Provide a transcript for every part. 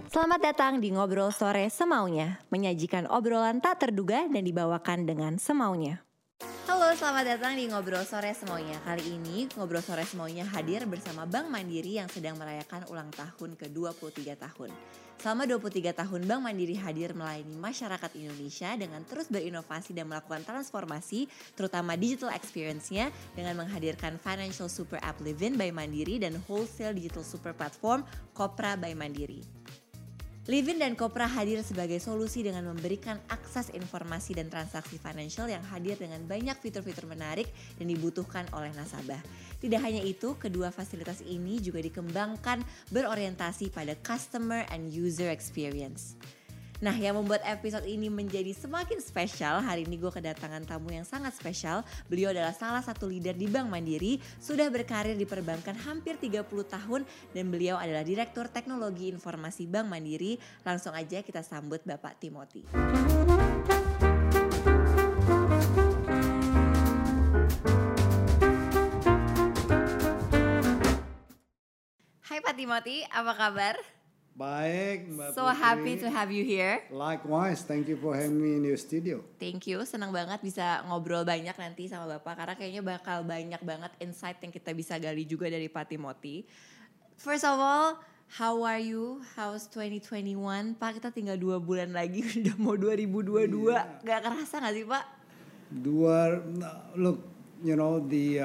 Selamat datang di Ngobrol Sore Semaunya, menyajikan obrolan tak terduga dan dibawakan dengan semaunya. Halo, selamat datang di Ngobrol Sore Semaunya. Kali ini Ngobrol Sore Semaunya hadir bersama Bank Mandiri yang sedang merayakan ulang tahun ke-23 tahun. Selama 23 tahun Bank Mandiri hadir melayani masyarakat Indonesia dengan terus berinovasi dan melakukan transformasi, terutama digital experience-nya dengan menghadirkan Financial Super App Livin by Mandiri dan Wholesale Digital Super Platform Kopra by Mandiri. Livin dan Kopra hadir sebagai solusi dengan memberikan akses informasi dan transaksi financial yang hadir dengan banyak fitur-fitur menarik dan dibutuhkan oleh nasabah. Tidak hanya itu, kedua fasilitas ini juga dikembangkan berorientasi pada customer and user experience. Nah, yang membuat episode ini menjadi semakin spesial, hari ini gue kedatangan tamu yang sangat spesial. Beliau adalah salah satu leader di Bank Mandiri, sudah berkarir di perbankan hampir 30 tahun dan beliau adalah Direktur Teknologi Informasi Bank Mandiri. Langsung aja kita sambut Bapak Timothy. Hai Pak Timothy, apa kabar? Baik, Mbak So Putri. happy to have you here. Likewise, thank you for having me in your studio. Thank you, senang banget bisa ngobrol banyak nanti sama Bapak karena kayaknya bakal banyak banget insight yang kita bisa gali juga dari Pak Timothy. First of all, how are you? How's 2021? Pak, kita tinggal 2 bulan lagi udah mau 2022. Gak kerasa gak sih Pak? Look, you know, the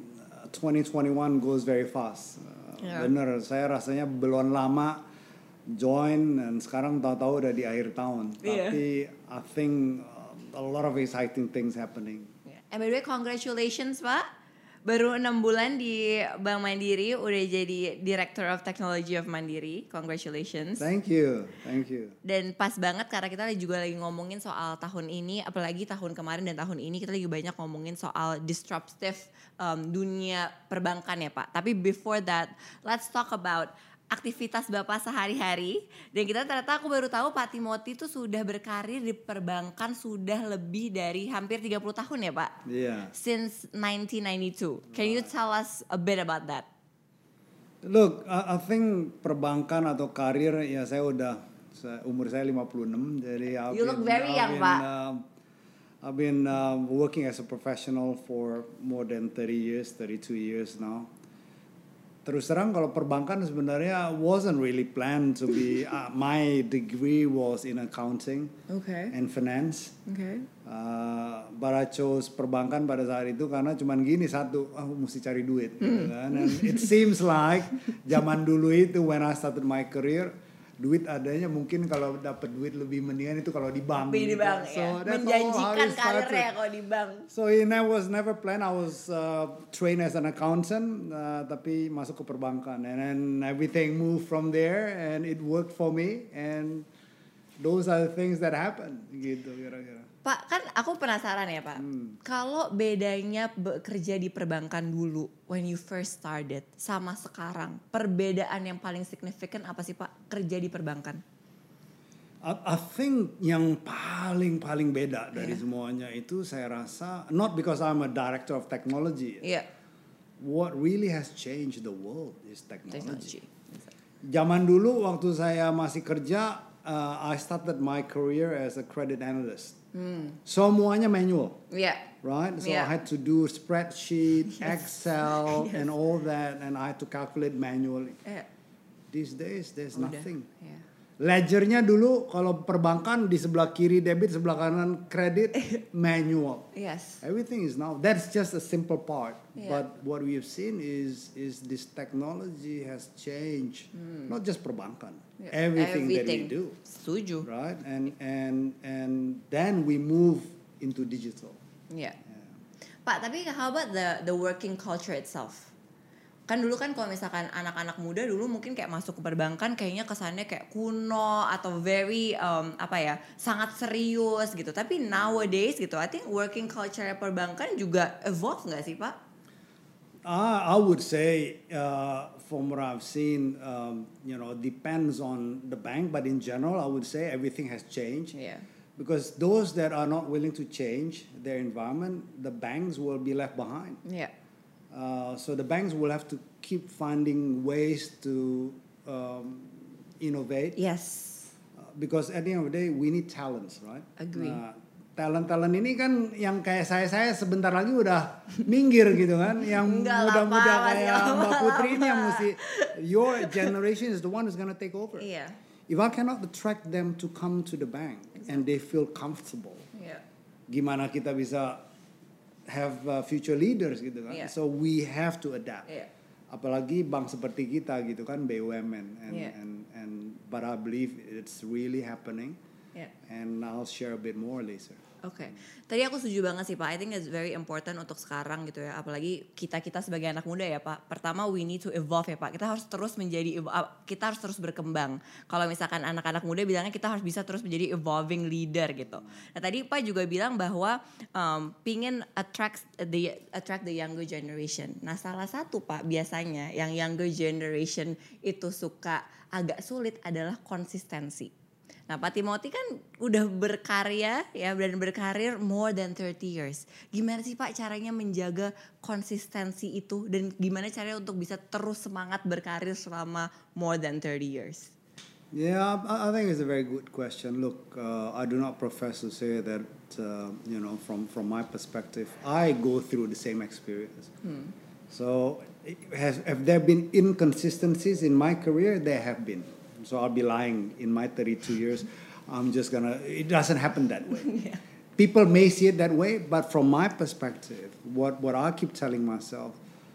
2021 goes very fast. Bener, saya rasanya belum lama join dan sekarang tahu-tahu udah di akhir tahun. Tapi I think a lot of exciting things happening. And by the way, congratulations Pak. Baru 6 bulan di Bank Mandiri udah jadi Director of Technology of Mandiri. Congratulations. Thank you. Dan pas banget karena kita juga lagi ngomongin soal tahun ini, apalagi tahun kemarin dan tahun ini kita lagi banyak ngomongin soal disruptive dunia perbankan ya Pak. Tapi before that, let's talk about aktivitas Bapak sehari-hari. Dan kita ternyata aku baru tahu Pak Timothy itu sudah berkarir di perbankan sudah lebih dari hampir 30 tahun ya Pak? Iya. Since 1992. Can you tell us a bit about that? Look, I think perbankan atau karir ya umur saya 56, jadi You look very young, Pak. I've been working as a professional for more than 30 years, 32 years now. Terus terang kalau perbankan sebenarnya wasn't really planned to be. My degree was in accounting and finance. But I chose perbankan pada saat itu karena cuman gini satu, mesti cari duit. Gitu kan? And it seems like zaman dulu itu when I started my career, duit adanya mungkin kalau dapat duit lebih mendingan itu kalau di bank. Di bank ya. Menjanjikan karirnya kalau di bank. So it was never planned. I was trained as an accountant, tapi masuk ke perbankan, and then everything moved from there, and it worked for me, and those are the things that happened, gitu kira-kira. Pak, kan aku penasaran ya Pak, kalau bedanya bekerja di perbankan dulu when you first started sama sekarang, perbedaan yang paling signifikan apa sih Pak kerja di perbankan? I think yang paling beda dari semuanya itu saya rasa, not because I'm a director of technology, what really has changed the world is technology. Zaman dulu waktu saya masih kerja, I started my career as a credit analyst. Semuanya manual, right? So I had to do spreadsheet, Excel, and all that, and I had to calculate manually. These days, there's nothing. Ledgernya dulu kalau perbankan di sebelah kiri debit, sebelah kanan kredit, manual. Everything is now. That's just a simple part. But what we have seen is this technology has changed, not just perbankan. Everything that we do. Setuju. Right, and then we move into digital. Pak, tapi how about the working culture itself? Kan dulu kan kalau misalkan anak-anak muda dulu mungkin kayak masuk ke perbankan kayaknya kesannya kayak kuno atau very sangat serius gitu. Tapi nowadays gitu, I think working culture perbankan juga evolve nggak sih Pak? I would say from what I've seen, depends on the bank, but in general, I would say everything has changed. Because those that are not willing to change their environment, the banks will be left behind. So the banks will have to keep finding ways to innovate. Yes. Because at the end of the day we need talents, right? Agree. Nah, talent ini kan yang kayak saya sebentar lagi udah minggir gitu kan, yang muda-muda kayak Mbak Putri ini yang mesti, your generation is the one who's gonna take over. Iya. If I cannot attract them to come to the bank and they feel comfortable, gimana kita bisa have future leaders gitu kan? So we have to adapt. Apalagi bank seperti kita gitu kan, BUMN, and but I believe it's really happening. And I'll share a bit more later. Oke. Tadi aku setuju banget sih Pak. I think it's very important untuk sekarang gitu ya. Apalagi kita sebagai anak muda ya Pak. Pertama we need to evolve ya Pak. Kita harus terus berkembang. Kalau misalkan anak-anak muda bilangnya kita harus bisa terus menjadi evolving leader gitu. Nah tadi Pak juga bilang bahwa pingin attract the younger generation. Nah salah satu Pak biasanya yang younger generation itu suka agak sulit adalah konsistensi. Nah Pak Timothy kan udah berkarya ya dan berkarir more than 30 years. Gimana sih Pak caranya menjaga konsistensi itu dan gimana caranya untuk bisa terus semangat berkarir selama more than 30 years? Yeah, I think it's a very good question. Look, I do not profess to say that, from my perspective, I go through the same experience. So have there been inconsistencies in my career? There have been. So I'll be lying in my 32 years. It doesn't happen that way. People may see it that way, but from my perspective, what I keep telling myself,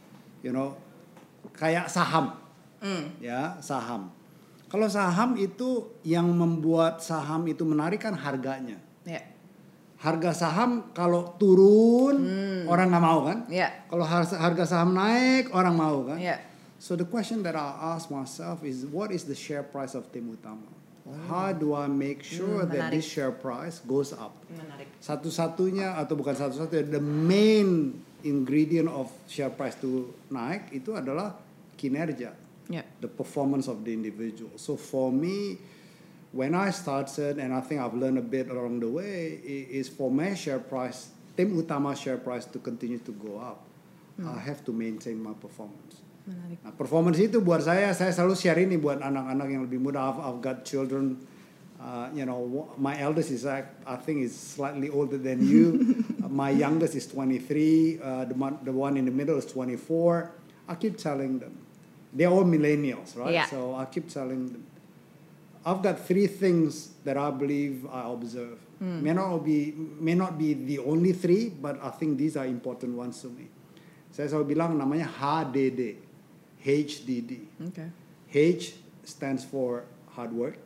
kayak saham. Ya, saham. Kalau saham itu yang membuat saham itu menarik kan harganya. Harga saham kalau turun orang nggak mau kan? Kalau harga saham naik orang mau kan? So the question that I ask myself is, what is the share price of Tim Utama? How do I make sure that this share price goes up? Satu-satunya atau bukan satu-satunya, the main ingredient of share price to naik itu adalah kinerja, the performance of the individual. So for me, when I started, and I think I've learned a bit along the way, is for my share price, Tim Utama share price to continue to go up, I have to maintain my performance. Nah, performance itu buat saya selalu share ini buat anak-anak yang lebih muda. I've got children, my eldest is I think is slightly older than you. My youngest is 23. The one in the middle is 24. I keep telling them, they're all millennials, right? So I keep telling them, I've got 3 things that I believe I observe. May not be the only 3, but I think these are important ones to me. Saya selalu bilang namanya HDD. HDD. Okay. H stands for hard work.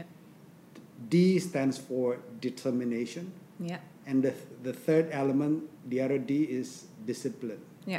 D stands for determination. And the third element, the other D, is discipline.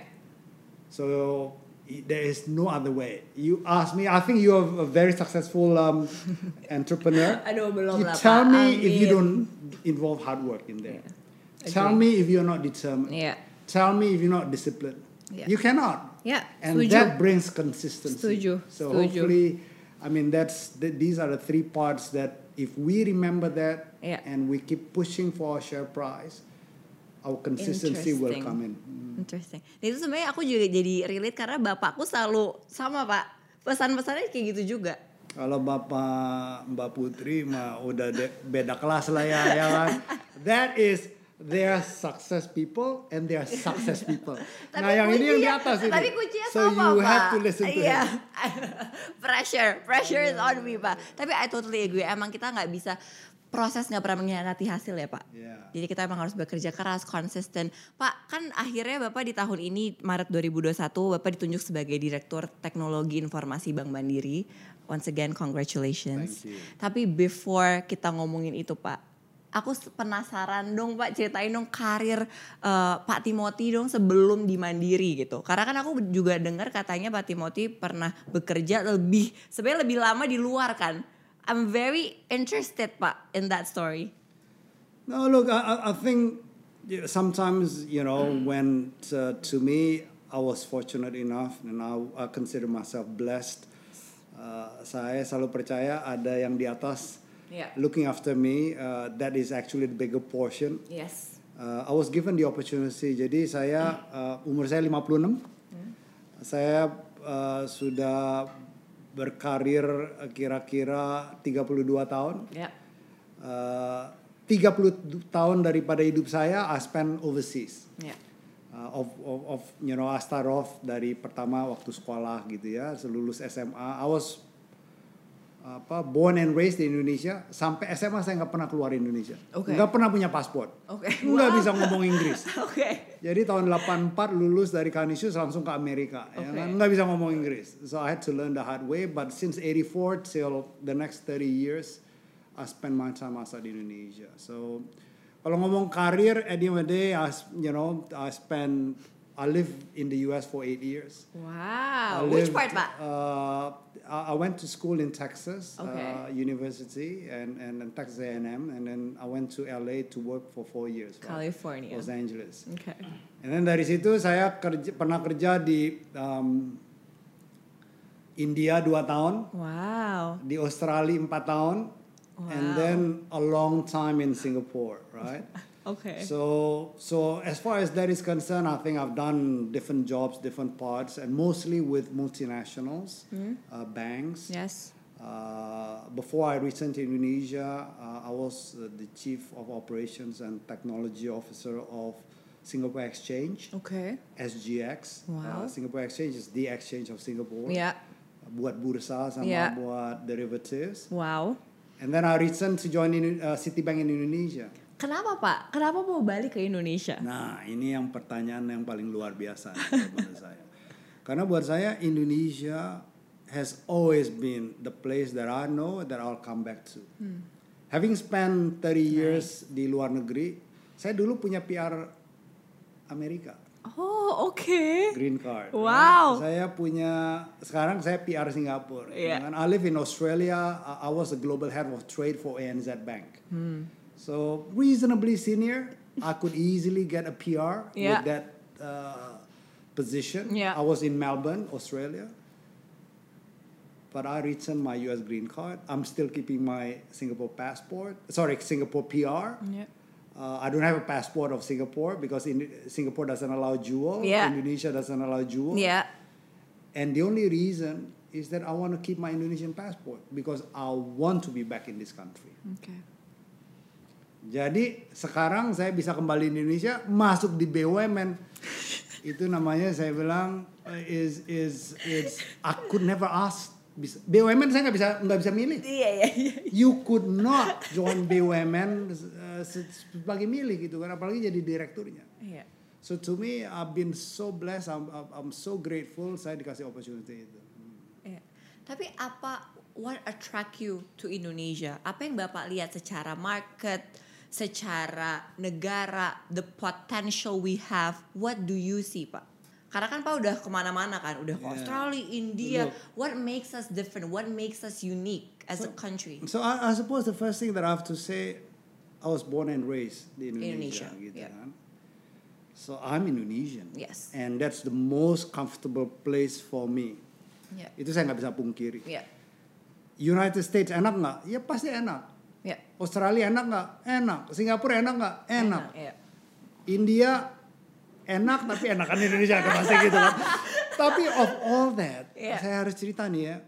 So there is no other way. You ask me, I think you're a very successful entrepreneur. Aduh, belum lah, tell me if you don't involve hard work in there. Tell me if you're not determined. Tell me if you're not disciplined. You cannot. And setuju. That brings consistency. Setuju. So hopefully, I mean, these are the 3 parts that if we remember that and we keep pushing for our share price, our consistency will come in. Interesting. Itu sebenarnya aku juga jadi relate karena bapakku selalu sama Pak. Pesan-pesannya kayak gitu juga. Kalau Bapak Mbak Putri mah udah beda kelas lah ya kan. That is they are success people and they are success people. Nah yang ini yang di atas ini. Tapi kuncinya so sama, you Pak. have to listen to him. Pressure is on me Pak. Tapi I totally agree. Emang kita nggak bisa proses nggak pernah mengkhianati hasil ya Pak. Jadi kita emang harus bekerja keras, konsisten. Pak kan akhirnya Bapak di tahun ini Maret 2021 Bapak ditunjuk sebagai Direktur Teknologi Informasi Bank Mandiri. Once again congratulations. Tapi before kita ngomongin itu Pak, aku penasaran dong Pak, ceritain dong karir Pak Timothy dong sebelum di Mandiri gitu. Karena kan aku juga dengar katanya Pak Timothy pernah bekerja sebenarnya lebih lama di luar kan. I'm very interested Pak in that story. No, look, I think sometimes, when to me I was fortunate enough and I consider myself blessed. Saya selalu percaya ada yang di atas looking after me, that is actually the bigger portion. I was given the opportunity. Jadi umur saya 56. Saya sudah berkarir kira-kira 32 tahun. Yeah. 30 tahun daripada hidup saya I spend overseas. Yeah. I start off dari pertama waktu sekolah gitu ya, lulus SMA. I was born and raised di Indonesia. Sampai SMA saya nggak pernah keluar Indonesia. Nggak pernah punya paspor. Nggak bisa ngomong Inggris. Jadi tahun 84 lulus dari Canisius langsung ke Amerika. Ya kan? Nggak bisa ngomong Inggris. So I had to learn the hard way. But since 84 till the next 30 years, I spend my time outside Indonesia. So kalau ngomong karir, at the end of the day, I lived in the US for 8 years. Wow. Which part, Pak? I went to school in Texas, University, and Texas A&M, and then I went to LA to work for 4 years. California. Los Angeles. Okay. And then dari situ saya pernah kerja di India 2 tahun. Wow. Di Australia 4 tahun. Wow. And then a long time in Singapore, right? Okay. So as far as that is concerned, I think I've done different jobs, different parts, and mostly with multinationals, banks. Yes. Before I returned to Indonesia, I was the Chief of Operations and Technology Officer of Singapore Exchange. Okay. SGX. Wow. Singapore Exchange is the exchange of Singapore. Yeah. Buat bursa sama buat derivatives. Wow. And then I returned to join Citibank in Indonesia. Kenapa Pak? Kenapa mau balik ke Indonesia? Nah, ini yang pertanyaan yang paling luar biasa menurut saya. Karena buat saya Indonesia has always been the place that I know that I'll come back to. Having spent 30 years di luar negeri, saya dulu punya PR Amerika. Oh, okay. Green card. Wow. Sekarang saya PR Singapura. Yeah. I live in Australia. I was the global head of trade for ANZ Bank. So reasonably senior, I could easily get a PR with that position. Yeah. I was in Melbourne, Australia. But I returned my US green card. I'm still keeping my Singapore PR. Yeah. I don't have a passport of Singapore because Singapore doesn't allow dual. Indonesia doesn't allow dual. Yeah. And the only reason is that I want to keep my Indonesian passport because I want to be back in this country. Okay. Jadi sekarang saya bisa kembali di Indonesia, masuk di BUMN. Itu namanya saya bilang I could never ask. BUMN saya nggak bisa milih. Iya. You could not join BUMN sebagai milih gitu kan, apalagi jadi direkturnya. Iya. So to me, I've been so blessed. I'm so grateful saya dikasih opportunity itu. Iya. Tapi what attract you to Indonesia? Apa yang Bapak lihat secara market, secara negara, the potential we have? What do you see, Pak? Karena kan Pak udah kemana-mana kan, udah ke Australia, India. What makes us different? What makes us unique as a country? So I suppose the first thing that I have to say, I was born and raised in Indonesia. Gitu kan. So I'm Indonesian. Yes. And that's the most comfortable place for me. Yeah. Itu saya nggak bisa pungkiri. Yeah. United States enak nggak? Ya pasti enak. Yeah. Australia enak nggak? Enak. Singapura enak nggak? Enak. Yeah. India enak tapi enakan Indonesia pasti gitu kan. Tapi of all that, saya harus cerita nih ya.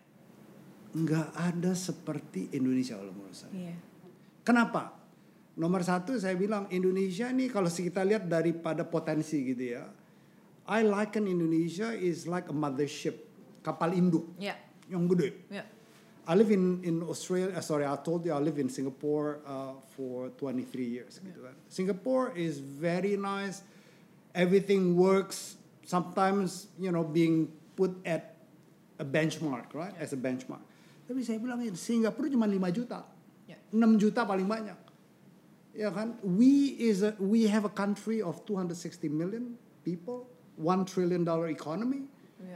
Nggak ada seperti Indonesia kalau menurut saya. Yeah. Kenapa? Nomor satu saya bilang Indonesia nih kalau kita lihat daripada potensi gitu ya. I liken Indonesia is like a mothership, kapal induk yang gede. Yeah. I live in Australia. I told you I live in Singapore for 23 years. Gitu kan. Singapore is very nice. Everything works. Sometimes being put at a benchmark, right? As a benchmark. Tapi saya bilang Singapura cuma 5 juta, 6 juta paling banyak. Ya kan? We have a country of 260 million people, $1 trillion economy,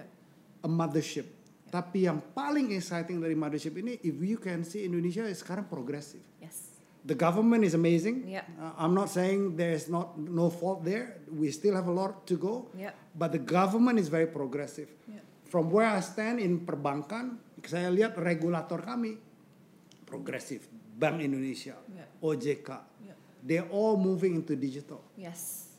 a mothership. Tapi yang paling exciting dari mothership ini, if you can see Indonesia is sekarang progressive. Yes. The government is amazing. Yeah. I'm not saying there's no fault there. We still have a lot to go. Yeah. But the government is very progressive. Yeah. From where I stand in perbankan, saya lihat regulator kami progressive. Bank Indonesia, OJK, they're all moving into digital. Yes.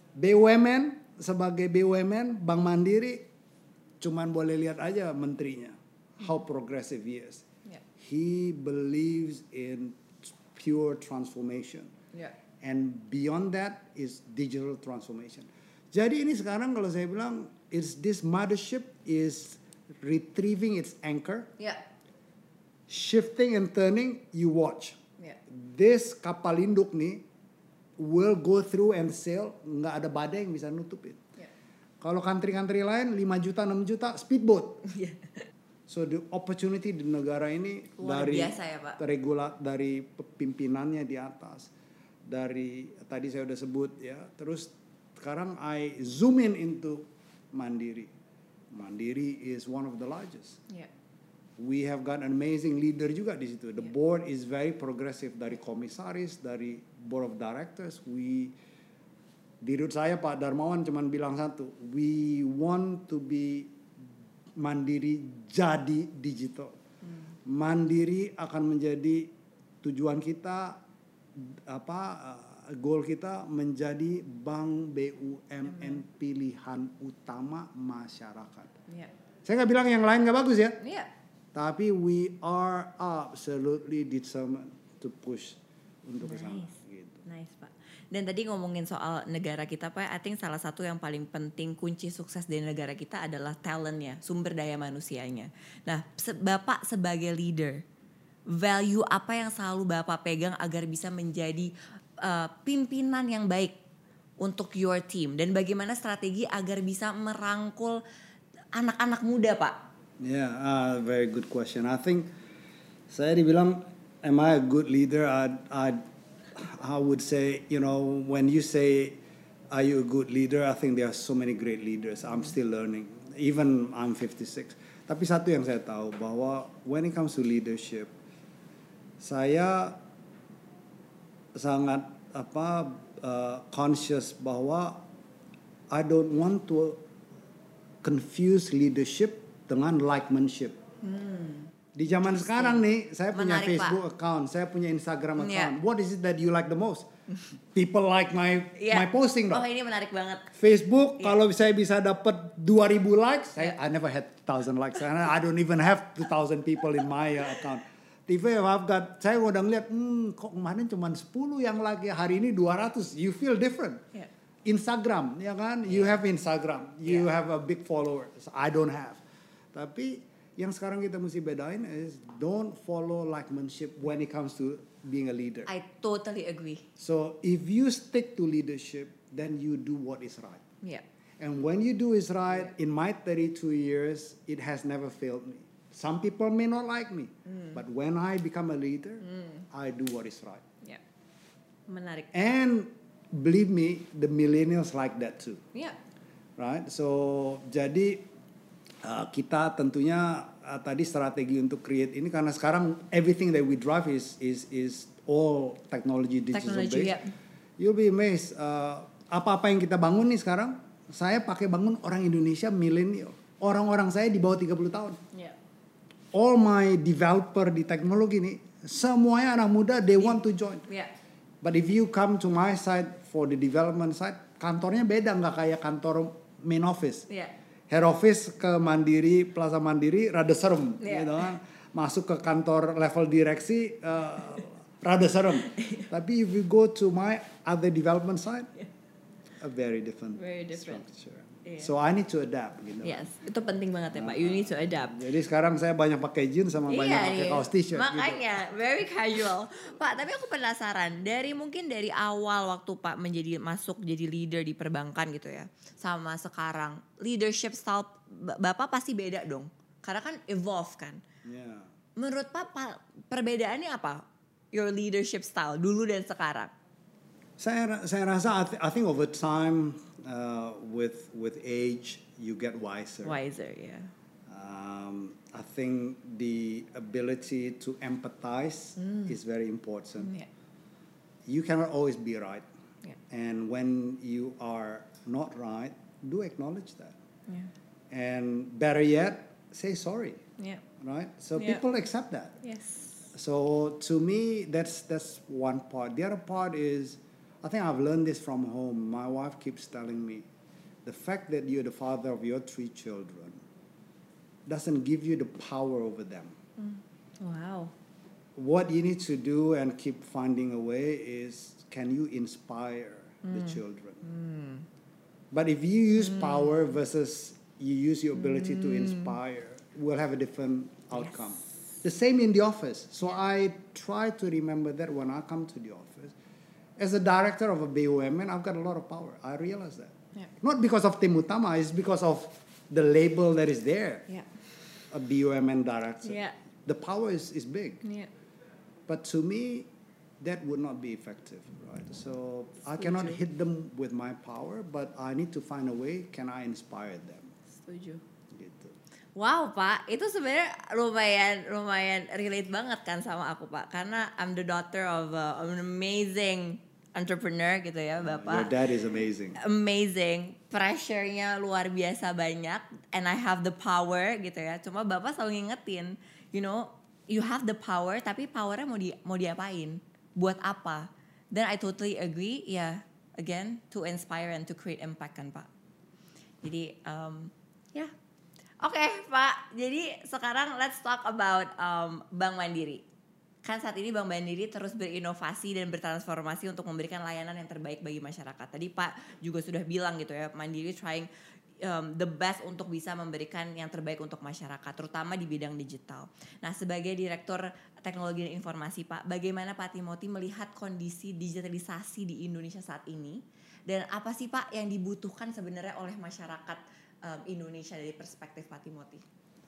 BUMN sebagai BUMN, Bank Mandiri, cuman boleh lihat aja menterinya. how progressive he is. Yeah. He believes in pure transformation. Yeah. And beyond that is digital transformation. Jadi ini sekarang kalau saya bilang, this mothership is retrieving its anchor. Yeah. Shifting and turning, you watch. Yeah. This kapal induk nih will go through and sail, nggak ada badai yang bisa nutupin. Yeah. Kalau country-country lain 5 juta, 6 juta, speedboat. Yeah. So the opportunity di negara ini luar dari biasa ya, Pak. dari pimpinannya di atas, dari tadi saya udah sebut ya, terus sekarang I zoom in into Mandiri. Mandiri is one of the largest. Yeah. We have got an amazing leader juga di situ. The board is very progressive, dari komisaris, dari board of directors. Dirut saya Pak Darmawan cuman bilang satu, we want to be Mandiri jadi digital. Mandiri akan menjadi tujuan kita, goal kita menjadi bank BUMN pilihan utama masyarakat. Yeah. Saya nggak bilang yang lain nggak bagus ya. Yeah. Tapi we are absolutely determined to push untuk ke sana. Gitu. Nice Pak. Dan tadi ngomongin soal negara kita Pak, I think salah satu yang paling penting kunci sukses dari negara kita adalah talentnya, sumber daya manusianya. Nah, Bapak sebagai leader, value apa yang selalu Bapak pegang agar bisa menjadi pimpinan yang baik untuk your team? Dan bagaimana strategi agar bisa merangkul anak-anak muda Pak? Yeah, very good question. I think saya dibilang, am I a good leader? I would say, when you say, are you a good leader? I think there are so many great leaders. I'm still learning. Even I'm 56. Tapi satu yang saya tahu bahwa when it comes to leadership, saya sangat conscious bahwa I don't want to confuse leadership dengan likemanship. Di zaman sekarang nih, saya punya Facebook account, saya punya Instagram account. What is it that you like the most? People like my posting. Oh, ini menarik banget. Facebook, kalau saya bisa dapat 2,000 likes, I never had 1,000 likes. I don't even have 2,000 people in my account. TV saya udah ngeliat, kok kemarin cuma 10 yang like, hari ini 200. You feel different. Yeah. Instagram, ya kan? You have Instagram, you have a big followers. I don't have. Tapi yang sekarang kita mesti bedain is don't follow likemanship when it comes to being a leader. I totally agree. So if you stick to leadership, then you do what is right. Yeah. And when you do is right, in my 32 years, it has never failed me. Some people may not like me, but when I become a leader, I do what is right. Yeah. Menarik. And believe me, the millennials like that too. Yeah. Right? So jadi kita tentunya tadi strategi untuk create ini karena sekarang everything that we drive is all technology digital based. Yeah. You'll be amazed. Apa-apa yang kita bangun nih sekarang, saya pakai bangun orang Indonesia milenial. Orang-orang saya di bawah 30 tahun. Yeah. All my developer di teknologi nih, semuanya anak muda, they want to join. Yeah. But if you come to my side for the development side, kantornya beda, nggak kayak kantor main office. Yeah. Head office ke Mandiri, Plaza Mandiri, rada serem, gitu kan. Masuk ke kantor level direksi, rada serem. Tapi if you go to my other development side, a very different structure. Yeah. So I need to adapt, gitu. Yes, itu penting banget ya Pak. You need to adapt. Jadi sekarang saya banyak pakai jeans sama banyak pakai kaos t-shirt. Makanya gitu. Very casual. Pak, tapi aku penasaran mungkin dari awal waktu Pak masuk jadi leader di perbankan gitu ya, sama sekarang leadership style Bapak pasti beda dong. Karena kan evolve kan. Yeah. Menurut Pak perbedaannya apa? Your leadership style dulu dan sekarang? Saya rasa I think over time with age you get wiser. Wiser, yeah. I think the ability to empathize is very important. Yeah. You cannot always be right. Yeah. And when you are not right, do acknowledge that. Yeah. And better yet, say sorry. Yeah. Right? So people accept that. Yes. So to me, that's one part. The other part is, I think I've learned this from home. My wife keeps telling me, the fact that you're the father of your 3 children, doesn't give you the power over them. Wow. What you need to do and keep finding a way is, can you inspire the children? But if you use power versus you use your ability to inspire, we'll have a different outcome. Yes. The same in the office. So I try to remember that when I come to the office. As a director of a BUMN, I've got a lot of power. I realize that. Yeah. Not because of Tim Utama, it's because of the label that is there. Yeah. A BUMN director. Yeah. The power is big. Yeah. But to me, that would not be effective, right? So I cannot hit them with my power, but I need to find a way, can I inspire them? Setuju. Gitu. Wow, Pak, itu sebenarnya lumayan relate banget kan sama aku, Pak. Karena I'm the daughter of an amazing entrepreneur gitu ya, Bapak. Your dad is amazing. Amazing. Pressure-nya luar biasa banyak, and I have the power gitu ya. Cuma Bapak selalu ngingetin, you know, you have the power, tapi powernya mau diapain? Buat apa? Then I totally agree, yeah, again, to inspire and to create impact kan, Pak. Jadi, ya. Oke, Pak. Jadi sekarang let's talk about Bank Mandiri. Kan saat ini Bank Mandiri terus berinovasi dan bertransformasi untuk memberikan layanan yang terbaik bagi masyarakat. Tadi Pak juga sudah bilang gitu ya, Mandiri trying the best untuk bisa memberikan yang terbaik untuk masyarakat, terutama di bidang digital. Nah, sebagai Direktur Teknologi dan Informasi, Pak, bagaimana Pak Timothy melihat kondisi digitalisasi di Indonesia saat ini? Dan apa sih Pak yang dibutuhkan sebenarnya oleh masyarakat Indonesia dari perspektif Pak Timothy?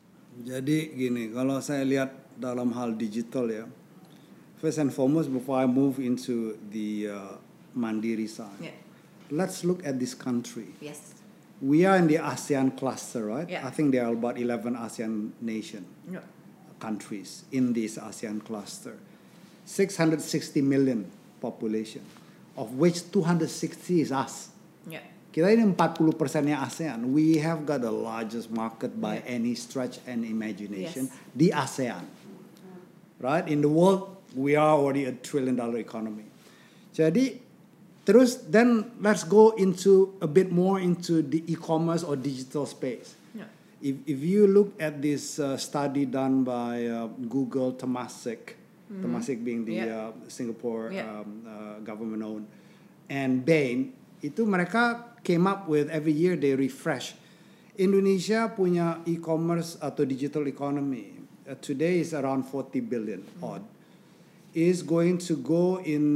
Jadi gini, kalau saya lihat dalam hal digital ya, first and foremost before I move into the Mandiri side, let's look at this country. Yes. We are in the ASEAN cluster, right? Yeah. I think there are about 11 ASEAN countries in this ASEAN cluster. 660 million population, of which 260 is us. Yeah. Kita ini 40%-nya ASEAN. We have got the largest market by any stretch and imagination di ASEAN. Right? In the world, we are already a $1 trillion economy. Jadi, terus then let's go into a bit more into the e-commerce or digital space. Yeah. If you look at this study done by Google, Temasek, Temasek being the Singapore government-owned, and Bain, itu mereka came up with every year they refresh. Indonesia punya e-commerce atau digital economy today is around 40 billion odd. Is going to go in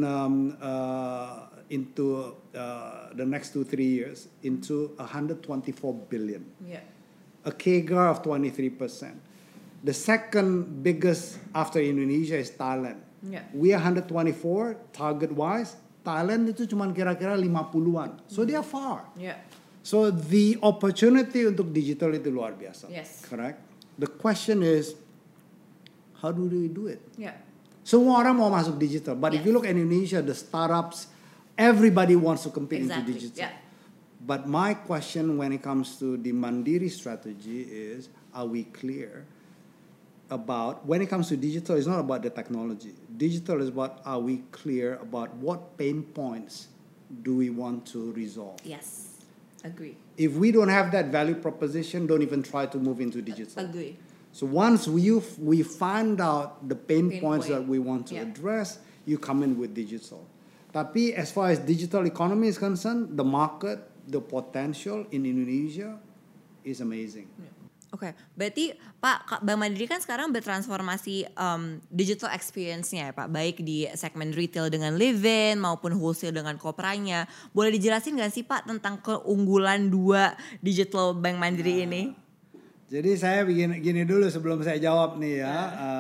into the next 2-3 years into 124 billion. Yeah. A CAGR of 23%. The second biggest after Indonesia is Thailand. Yeah. We are 124 target-wise. Thailand itu cuma kira-kira 50-an. So they are far. Yeah. So the opportunity untuk digital itu luar biasa. Yes. Correct? The question is, how do we do it? Yeah. Semua orang mau masuk digital. But if you look at Indonesia, the startups, everybody wants to compete into digital. Yeah. But my question when it comes to the Mandiri strategy is, are we clear about, when it comes to digital, it's not about the technology. Digital is about, are we clear about what pain points do we want to resolve? Yes, agree. If we don't have that value proposition, don't even try to move into digital. Agree. So once we find out the pain points that we want to address, you come in with digital. Tapi as far as digital economy is concerned, the market, the potential in Indonesia is amazing. Yeah. Oke, berarti Pak, Bank Mandiri kan sekarang bertransformasi digital experience-nya ya Pak, baik di segmen retail dengan Livin maupun wholesale dengan Kopranya. Boleh dijelasin nggak sih Pak tentang keunggulan dua digital Bank Mandiri ini? Jadi saya gini dulu sebelum saya jawab nih ya,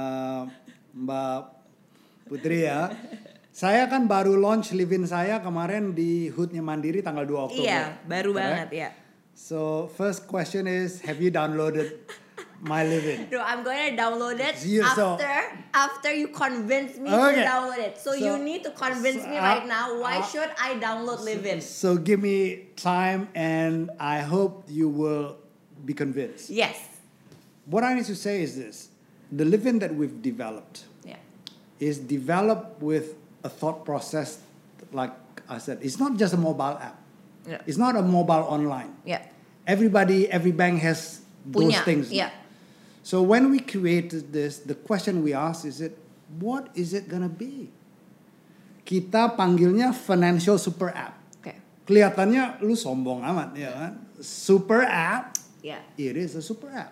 Mbak Putri ya. Saya kan baru launch Livin saya kemarin di HUD-nya Mandiri tanggal 2 Oktober. Iya, baru banget ya. So first question is, have you downloaded my Livin? No, I'm going to download it after you convince me to download it. So you need to convince me right now. Why should I download Livin? So give me time, and I hope you will be convinced. Yes. What I need to say is this: the Livin that we've developed is developed with a thought process. Like I said, it's not just a mobile app. Yeah. It's not a mobile online. Yeah. Every bank has those things. Yeah. So when we created this, the question we asked is what is it gonna be? Kita panggilnya financial super app. Kelihatannya lu sombong amat ya kan? Super app. It is a super app.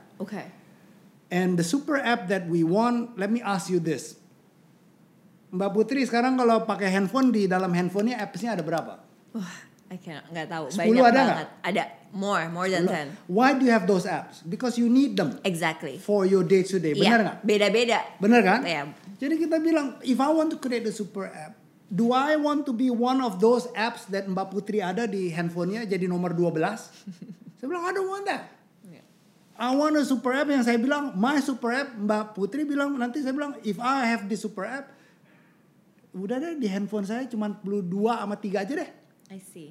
And the super app that we want, let me ask you this. Mbak Putri sekarang kalau pakai handphone, di dalam handphonenya apps-nya ada berapa? Nggak tahu. 10 banyak ada banget. Ada more than 10. Why do you have those apps? Because you need them. Exactly. For your day to day. Benar nggak? Beda-beda. Benar kan? Jadi kita bilang, if I want to create a super app, do I want to be one of those apps that Mbak Putri ada di handphonenya jadi nomor 12? Saya bilang, I don't want that. I want a super app yang saya bilang, my super app. Mbak Putri bilang, nanti saya bilang, if I have this super app, udah deh di handphone saya cuma perlu 2 sama 3 aja deh. I see.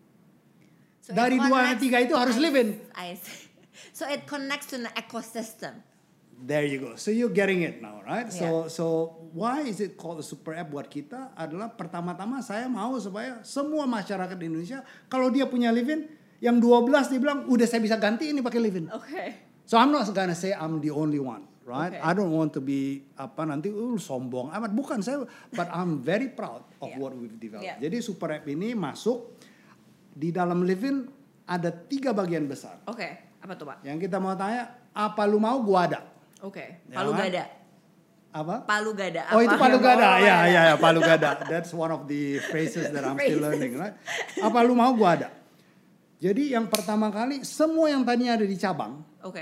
So dari 2 sama 3 itu harus live in. I see. So it connects to an ecosystem. There you go. So you're getting it now, right? So why is it called a super app buat kita? Adalah pertama-tama saya mau supaya semua masyarakat di Indonesia kalau dia punya live-in, yang 12 dia bilang udah saya bisa ganti ini pakai live-in. So I'm not gonna say I'm the only one, right? I don't want to be nanti sombong amat, bukan saya, but I'm very proud of what we've developed. Jadi super app ini masuk di dalam live-in ada 3 bagian besar. Apa tuh Pak? Yang kita mau tanya, apa lu mau gua ada. Palu gada. Apa? Palu gada. Oh itu palu gada, ya palu gada. That's one of the phrases that I'm still learning, right? Apa lu mau gua ada. Jadi yang pertama kali semua yang tadinya ada di cabang,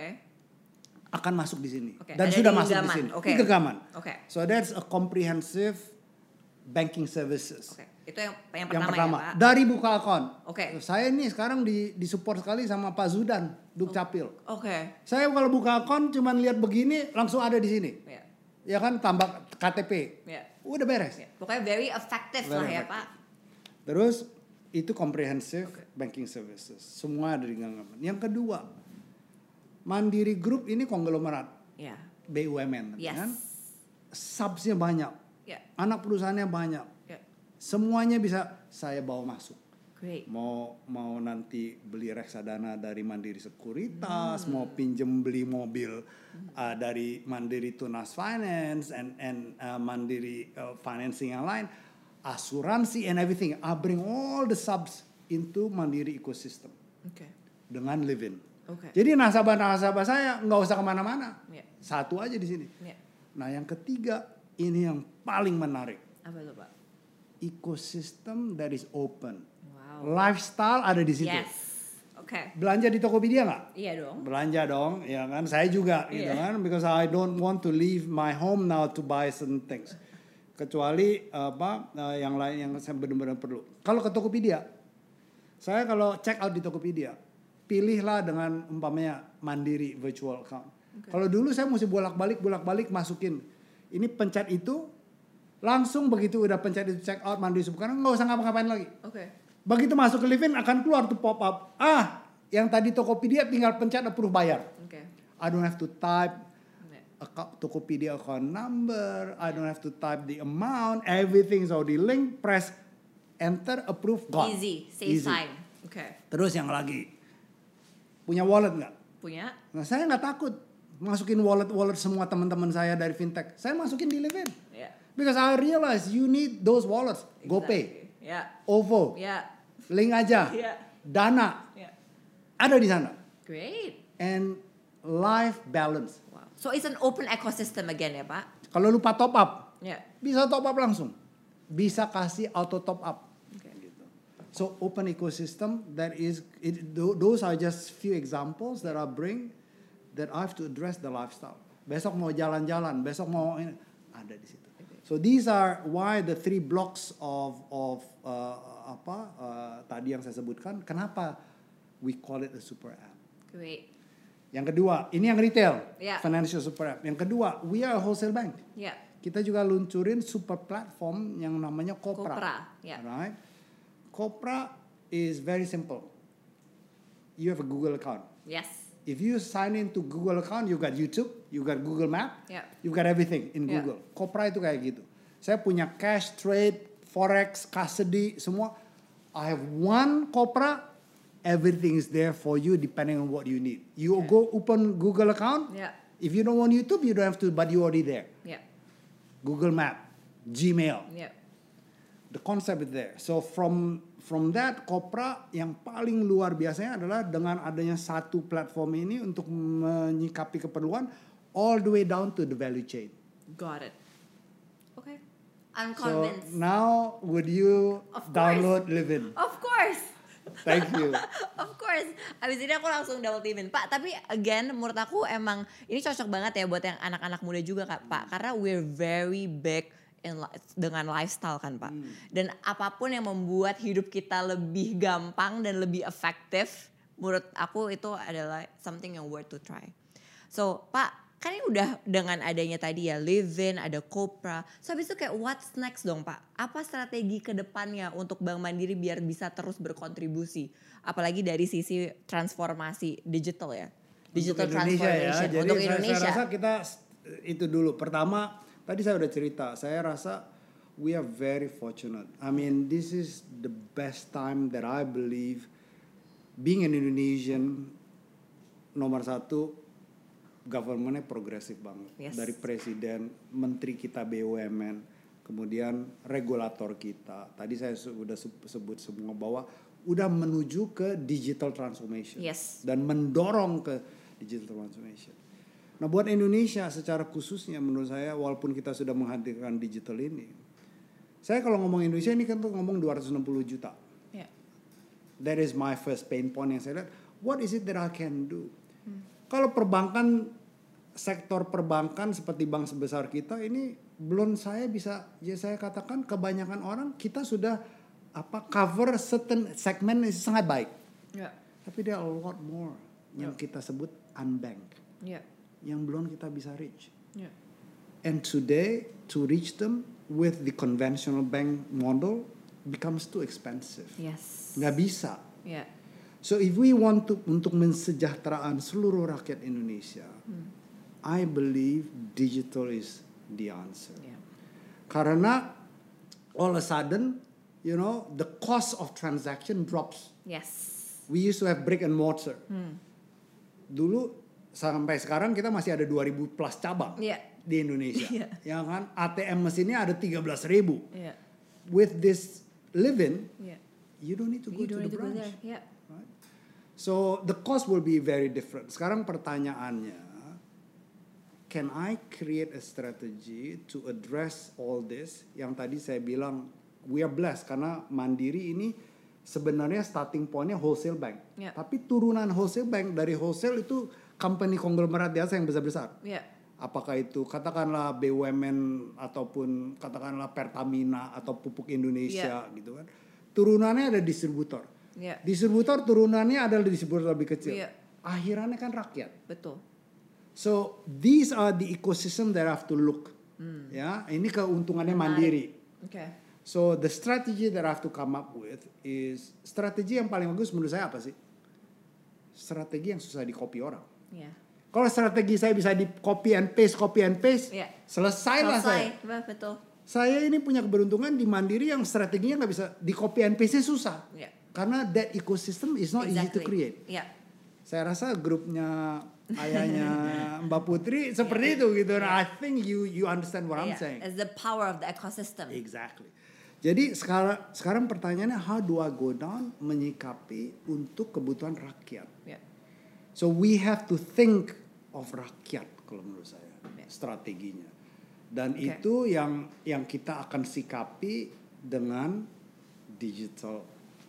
akan masuk di sini dan ada sudah masuk di sini. Di genggaman. So that's a comprehensive banking services. Itu yang pertama. Ya, Pak? Dari buka akun. Saya ini sekarang di support sekali sama Pak Zudan, Dukcapil. Saya kalau buka akun cuman lihat begini langsung ada di sini. Ya kan tambah KTP. Udah beres. Pokoknya very effective lah ya Pak. Terus itu comprehensive banking services. Semua ada di genggaman. Yang kedua, Mandiri Group ini konglomerat. BUMN kan. Subsnya banyak. Anak perusahaannya banyak. Semuanya bisa saya bawa masuk. Mau nanti beli reksadana dari Mandiri Sekuritas, mau pinjem beli mobil dari Mandiri Tunas Finance and Mandiri financing yang lain, asuransi and everything. I bring all the subs into Mandiri ecosystem dengan live-in. Jadi nasabah-nasabah saya nggak usah kemana-mana, satu aja di sini. Nah yang ketiga ini yang paling menarik. Apa tuh Pak? Ecosystem that is open. Lifestyle ada di situ. Okay. Belanja di Tokopedia nggak? Iya dong. Belanja dong, ya kan? Saya juga, gitu kan? Because I don't want to leave my home now to buy certain things. Kecuali yang lain yang saya benar-benar perlu. Kalau ke Tokopedia, saya kalau check out di Tokopedia, pilihlah dengan umpamanya Mandiri virtual account. Okay. Kalau dulu saya mesti bolak-balik masukin. Ini pencet itu, langsung begitu udah pencet itu check out Mandiri sekarang nggak usah ngapa-ngapain lagi. Begitu masuk ke live-in akan keluar tuh pop up. Yang tadi Tokopedia tinggal pencet approve bayar. I don't have to type Tokopedia account number. I don't have to type the amount. Everything's already linked. Press enter, approve, gone. Easy, save time. Terus yang lagi, punya wallet nggak? Punya. Nah saya nggak takut masukin wallet semua teman-teman saya dari fintech. Saya masukin di live-in. Because I realize you need those wallets. GoPay, OVO, Link aja, Dana, ada di sana. Great. And life balance. So it's an open ecosystem again ya Pak? Kalau lupa top up, bisa top up langsung. Bisa kasih auto top up. Gitu. So open ecosystem those are just few examples that I bring that I have to address the lifestyle. Besok mau jalan-jalan, besok mau ini, ada di situ. So these are why the 3 blocks of tadi yang saya sebutkan. Kenapa we call it a super app? Great. Yang kedua, ini yang retail, financial super app. Yang kedua, we are a wholesale bank. Kita juga luncurin super platform yang namanya Kopra. Right? Kopra is very simple. You have a Google account. If you sign into Google account, you got YouTube, you got Google Map, you got everything in Google. Kopra itu kayak gitu. Saya punya cash, trade, forex, custody, semua. I have one Kopra. Everything is there for you depending on what you need. You go open Google account, If you don't want YouTube, you don't have to, but you already there. Yeah. Google Map, Gmail. Yeah. The concept is there. So from that, Kopra yang paling luar biasanya adalah dengan adanya satu platform ini untuk menyikapi keperluan all the way down to the value chain. Got it. Okay. I'm convinced. So now would you download Livin? Of course. Thank you. Of course. Abis ini aku langsung download Livin. Pak, tapi again menurut aku emang ini cocok banget ya buat yang anak-anak muda juga Kak, Pak. Karena we're very big dengan lifestyle kan Pak. Dan apapun yang membuat hidup kita lebih gampang dan lebih efektif, menurut aku itu adalah something yang worth to try. So Pak, kan ini udah dengan adanya tadi ya Livin, ada Kopra. So habis itu kayak what's next dong Pak? Apa strategi ke depannya untuk Bank Mandiri biar bisa terus berkontribusi? Apalagi dari sisi transformasi digital ya. Digital transformation ya. untuk Jadi Indonesia. saya rasa kita itu dulu. Pertama, tadi saya udah cerita. Saya rasa we are very fortunate. I mean, this is the best time that I believe being an Indonesian. Nomor satu, governmentnya progresif banget. Yes. Dari presiden, menteri kita BUMN, kemudian regulator kita. Tadi saya sudah sebut semua bahwa udah menuju ke digital transformation. Yes. Dan mendorong ke digital transformation. Nah buat Indonesia secara khususnya menurut saya walaupun kita sudah menghadirkan digital ini. Saya kalau ngomong Indonesia ini kan tuh ngomong 260 juta. Yeah. That is my first pain point yang saya lihat. What is it that I can do? Kalau perbankan, sektor perbankan seperti bank sebesar kita ini belum saya bisa, ya saya katakan kebanyakan orang kita sudah cover certain segmen sangat baik. Yeah. Tapi there are a lot more yang kita sebut unbanked. Yeah. Yang belum kita bisa reach. Yeah. And today to reach them with the conventional bank model becomes too expensive. Yes. Nggak bisa. Yeah. So if we want to untuk mensejahteraan seluruh rakyat Indonesia, I believe digital is the answer. Yeah. Karena all of a sudden, you know, the cost of transaction drops. Yes. We used to have brick and mortar. Dulu sampai sekarang kita masih ada 2.000 plus cabang di Indonesia. Ya kan ATM mesinnya ada 13.000. Yeah. With this Livin, you don't need to go to the branch. Yeah. Right? So the cost will be very different. Sekarang pertanyaannya, can I create a strategy to address all this? Yang tadi saya bilang, we are blessed karena Mandiri ini sebenarnya starting pointnya wholesale bank. Yeah. Tapi turunan wholesale bank dari wholesale itu company konglomerat biasa yang besar-besar. Yeah. Apakah itu katakanlah BUMN ataupun katakanlah Pertamina atau Pupuk Indonesia gitu kan. Turunannya ada distributor. Yeah. Distributor turunannya adalah distributor lebih kecil. Yeah. Akhirannya kan rakyat. Betul. So these are the ecosystem that I have to look. Ya, ini keuntungannya Mandiri. Okay. So the strategy that I have to come up with is strategi yang paling bagus menurut saya apa sih? Strategi yang susah di-copy orang. Yeah. Kalau strategi saya bisa di copy and paste, selesailah saya. Betul. Saya ini punya keberuntungan di Mandiri yang strateginya nggak bisa di copy and paste susah. Yeah. Karena that ecosystem is not easy to create. Yeah. Saya rasa grupnya ayahnya Mbak Putri seperti itu gitu. Nah, I think you understand what I'm saying. It's the power of the ecosystem. Exactly. Jadi sekarang pertanyaannya how do I go down menyikapi untuk kebutuhan rakyat. Yeah. So we have to think of rakyat kalau menurut saya strateginya. Dan itu yang kita akan sikapi dengan digital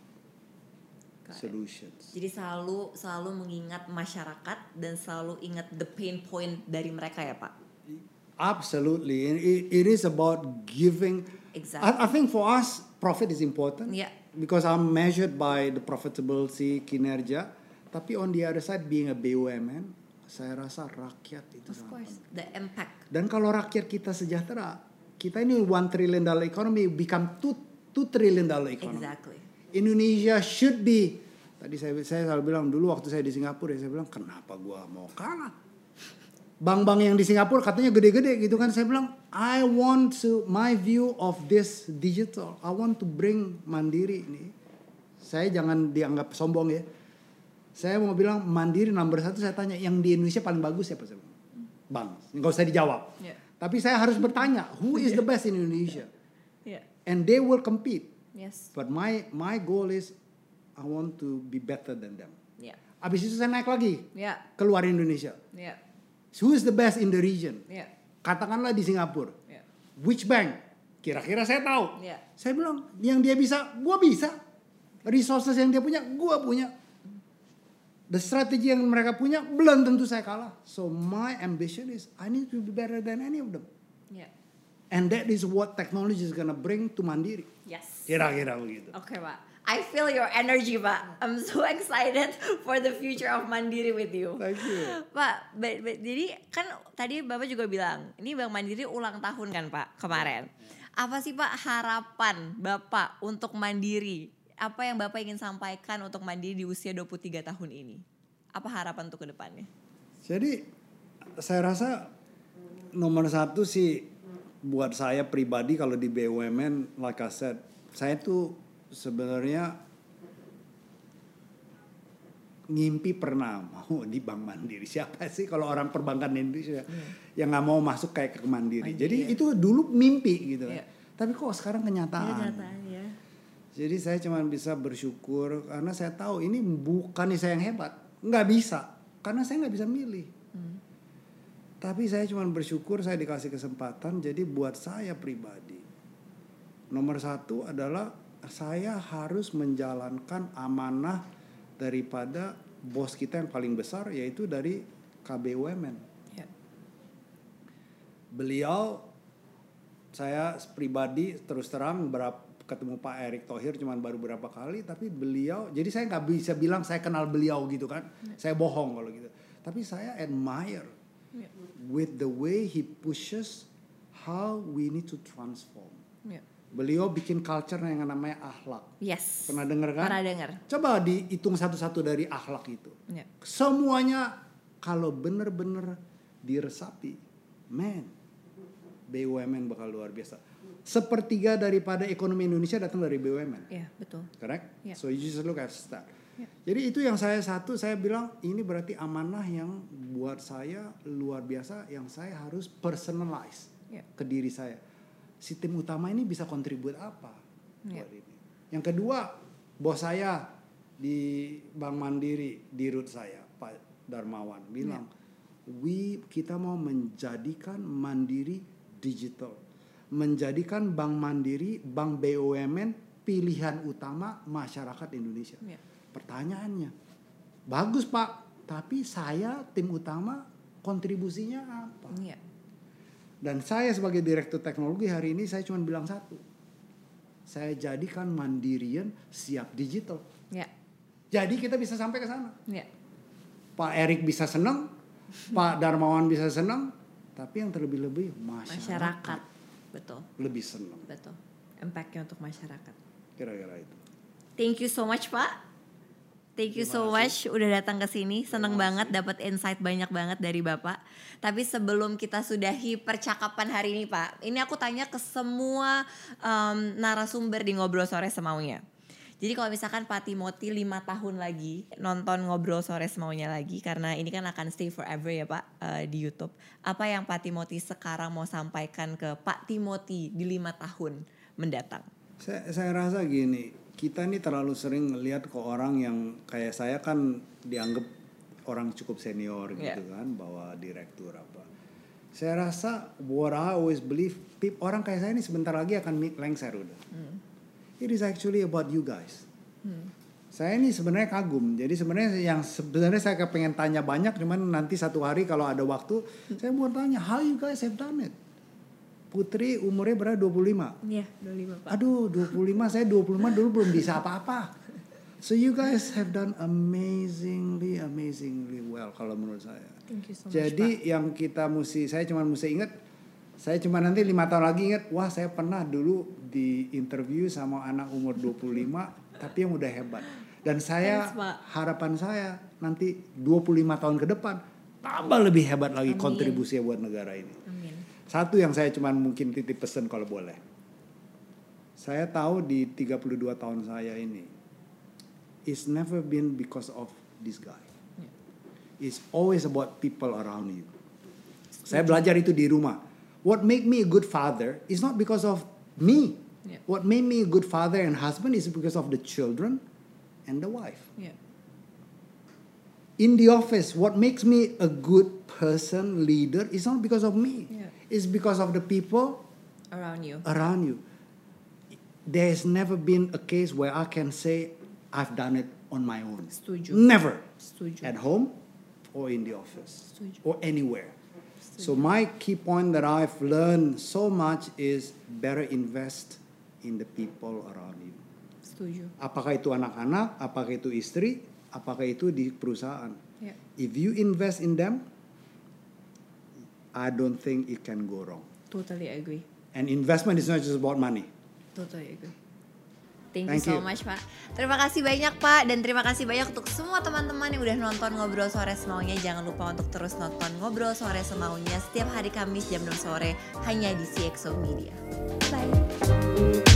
solutions. Jadi selalu mengingat masyarakat dan selalu ingat the pain point dari mereka ya Pak. Absolutely. It is about giving. Exactly. I think for us profit is important. Yeah. Because I'm measured by the profitability kinerja. Tapi on the other side being a BUMN, saya rasa rakyat itu of course, the impact. Dan kalau rakyat kita sejahtera, kita ini $1 trillion economy become $2 trillion economy. Exactly. Indonesia should be. Tadi saya selalu bilang dulu waktu saya di Singapura, saya bilang kenapa gua mau kalah? Bank-bank yang di Singapura katanya gede-gede gitu kan. Saya bilang I want to my view of this digital. I want to bring Mandiri ini. Saya jangan dianggap sombong ya. Saya mau bilang Mandiri nomor 1, saya tanya yang di Indonesia paling bagus siapa? Saya bilang. bank. Nggak usah dijawab. Yeah. Tapi saya harus bertanya, who is the best in Indonesia? Yeah. And they will compete. Yes. But my goal is I want to be better than them. Yeah. Abis itu saya naik lagi. Yeah. Keluar Indonesia. Yeah. Who is the best in the region? Yeah. Katakanlah di Singapura. Yeah. Which bank? Kira-kira saya tahu. Yeah. Saya bilang, yang dia bisa, gua bisa. Resources yang dia punya, gua punya. The strategi yang mereka punya, belum tentu saya kalah. So my ambition is, I need to be better than any of them. Yeah. And that is what technology is gonna bring to Mandiri. Yes. Kira-kira begitu. Oke, Pak. I feel your energy, Pak. I'm so excited for the future of Mandiri with you. Thank you. Pak, jadi kan tadi Bapak juga bilang, ini Bank Mandiri ulang tahun kan Pak kemarin. Apa sih Pak harapan Bapak untuk Mandiri? Apa yang Bapak ingin sampaikan untuk Mandiri di usia 23 tahun ini? Apa harapan untuk ke depannya? Jadi saya rasa nomor satu sih buat saya pribadi kalau di BUMN, like I said, saya tuh sebenarnya ngimpi pernah mau di Bank Mandiri. Siapa sih kalau orang perbankan Indonesia yang nggak mau masuk kayak ke Mandiri? Jadi itu dulu mimpi gitu kan. Tapi kok sekarang kenyataan. Ya. Jadi saya cuma bisa bersyukur karena saya tahu ini bukan saya yang hebat, nggak bisa karena saya nggak bisa milih. Tapi saya cuma bersyukur saya dikasih kesempatan. Jadi buat saya pribadi, nomor satu adalah saya harus menjalankan amanah daripada bos kita yang paling besar, yaitu dari KBUMN. Beliau, saya pribadi terus terang ketemu Pak Erick Thohir cuman baru berapa kali, tapi beliau, jadi saya nggak bisa bilang saya kenal beliau gitu kan, saya bohong kalau gitu. Tapi saya admire with the way he pushes how we need to transform. Beliau bikin culture yang namanya akhlak. Yes. Pernah dengar kan? Pernah dengar. Coba dihitung satu-satu dari akhlak itu. Semuanya kalau benar-benar diresapi, BUMN bakal luar biasa. Sepertiga daripada ekonomi Indonesia datang dari BUMN. Iya, betul. Correct? So you just look at that. Jadi itu yang saya bilang ini berarti amanah yang buat saya luar biasa, yang saya harus personalize ke diri saya. Si tim utama ini bisa kontribut apa buat ini. Yang kedua, bos saya di Bank Mandiri, dirut saya Pak Darmawan bilang, kita mau menjadikan Mandiri digital. Menjadikan Bank Mandiri, Bank BUMN pilihan utama masyarakat Indonesia. Pertanyaannya, bagus Pak, tapi saya tim utama kontribusinya apa? Dan saya sebagai direktur teknologi hari ini saya cuma bilang satu, saya jadikan Mandirian siap digital. Jadi kita bisa sampai ke sana. Pak Erick bisa senang, Pak Darmawan bisa senang, tapi yang terlebih-lebih masyarakat. Betul. Lebih senang. Betul. Impact-nya untuk masyarakat. Kira-kira itu. Thank you so much Pak. Thank you so much udah datang ke sini. Seneng banget dapat insight banyak banget dari Bapak. Tapi sebelum kita sudahi percakapan hari ini Pak, ini aku tanya ke semua narasumber di Ngobrol Sore Semaunya. Jadi kalau misalkan Pak Timothy 5 tahun lagi nonton Ngobrol Sore Semaunya lagi, karena ini kan akan stay forever ya Pak di YouTube. Apa yang Pak Timothy sekarang mau sampaikan ke Pak Timothy di 5 tahun mendatang? Saya rasa gini, kita ini terlalu sering ngelihat ke orang yang kayak saya kan dianggap orang cukup senior gitu kan, bawa direktur apa. Saya rasa what I always believe, orang kayak saya ini sebentar lagi akan lengser udah. It is actually about you guys. Saya ini sebenarnya kagum. Jadi sebenarnya saya pengen tanya banyak, cuman nanti satu hari kalau ada waktu saya mau tanya how you guys have done it. Putri umurnya berapa? 25? Iya, 25 Pak. Aduh, 25, saya 25 dulu belum bisa apa-apa. So you guys have done amazingly well kalau menurut saya. Thank you so much, Jadi Pak. yang kita saya cuma ingat, saya cuma nanti 5 tahun lagi ingat, wah saya pernah dulu di interview sama anak umur 25 tapi yang udah hebat. Dan saya harapan saya nanti 25 tahun ke depan tambah lebih hebat lagi kontribusinya buat negara ini. Amin. Satu yang saya cuma mungkin titip pesan kalau boleh. Saya tahu di 32 tahun saya ini, it's never been because of this guy. It's always about people around you. Saya belajar itu di rumah. What make me a good father is not because of me. Yeah. What made me a good father and husband is because of the children and the wife. Yeah. In the office, what makes me a good person, leader, is not because of me. Yeah. It's because of the people around you. There's never been a case where I can say I've done it on my own. Setuju. Never. Setuju. At home or in the office. Setuju. Or anywhere. Setuju. So my key point that I've learned so much is better invest in the people around you. Setuju. Apakah itu anak-anak, apakah itu istri, apakah itu di perusahaan. Yeah. If you invest in them, I don't think it can go wrong. Totally agree. And investment is not just about money. Totally agree. Thank you so much, Pak. Terima kasih banyak, Pak. Dan terima kasih banyak untuk semua teman-teman yang udah nonton Ngobrol Sore Semaunya. Jangan lupa untuk terus nonton Ngobrol Sore Semaunya setiap hari Kamis jam 6 sore hanya di CXO Media. Bye.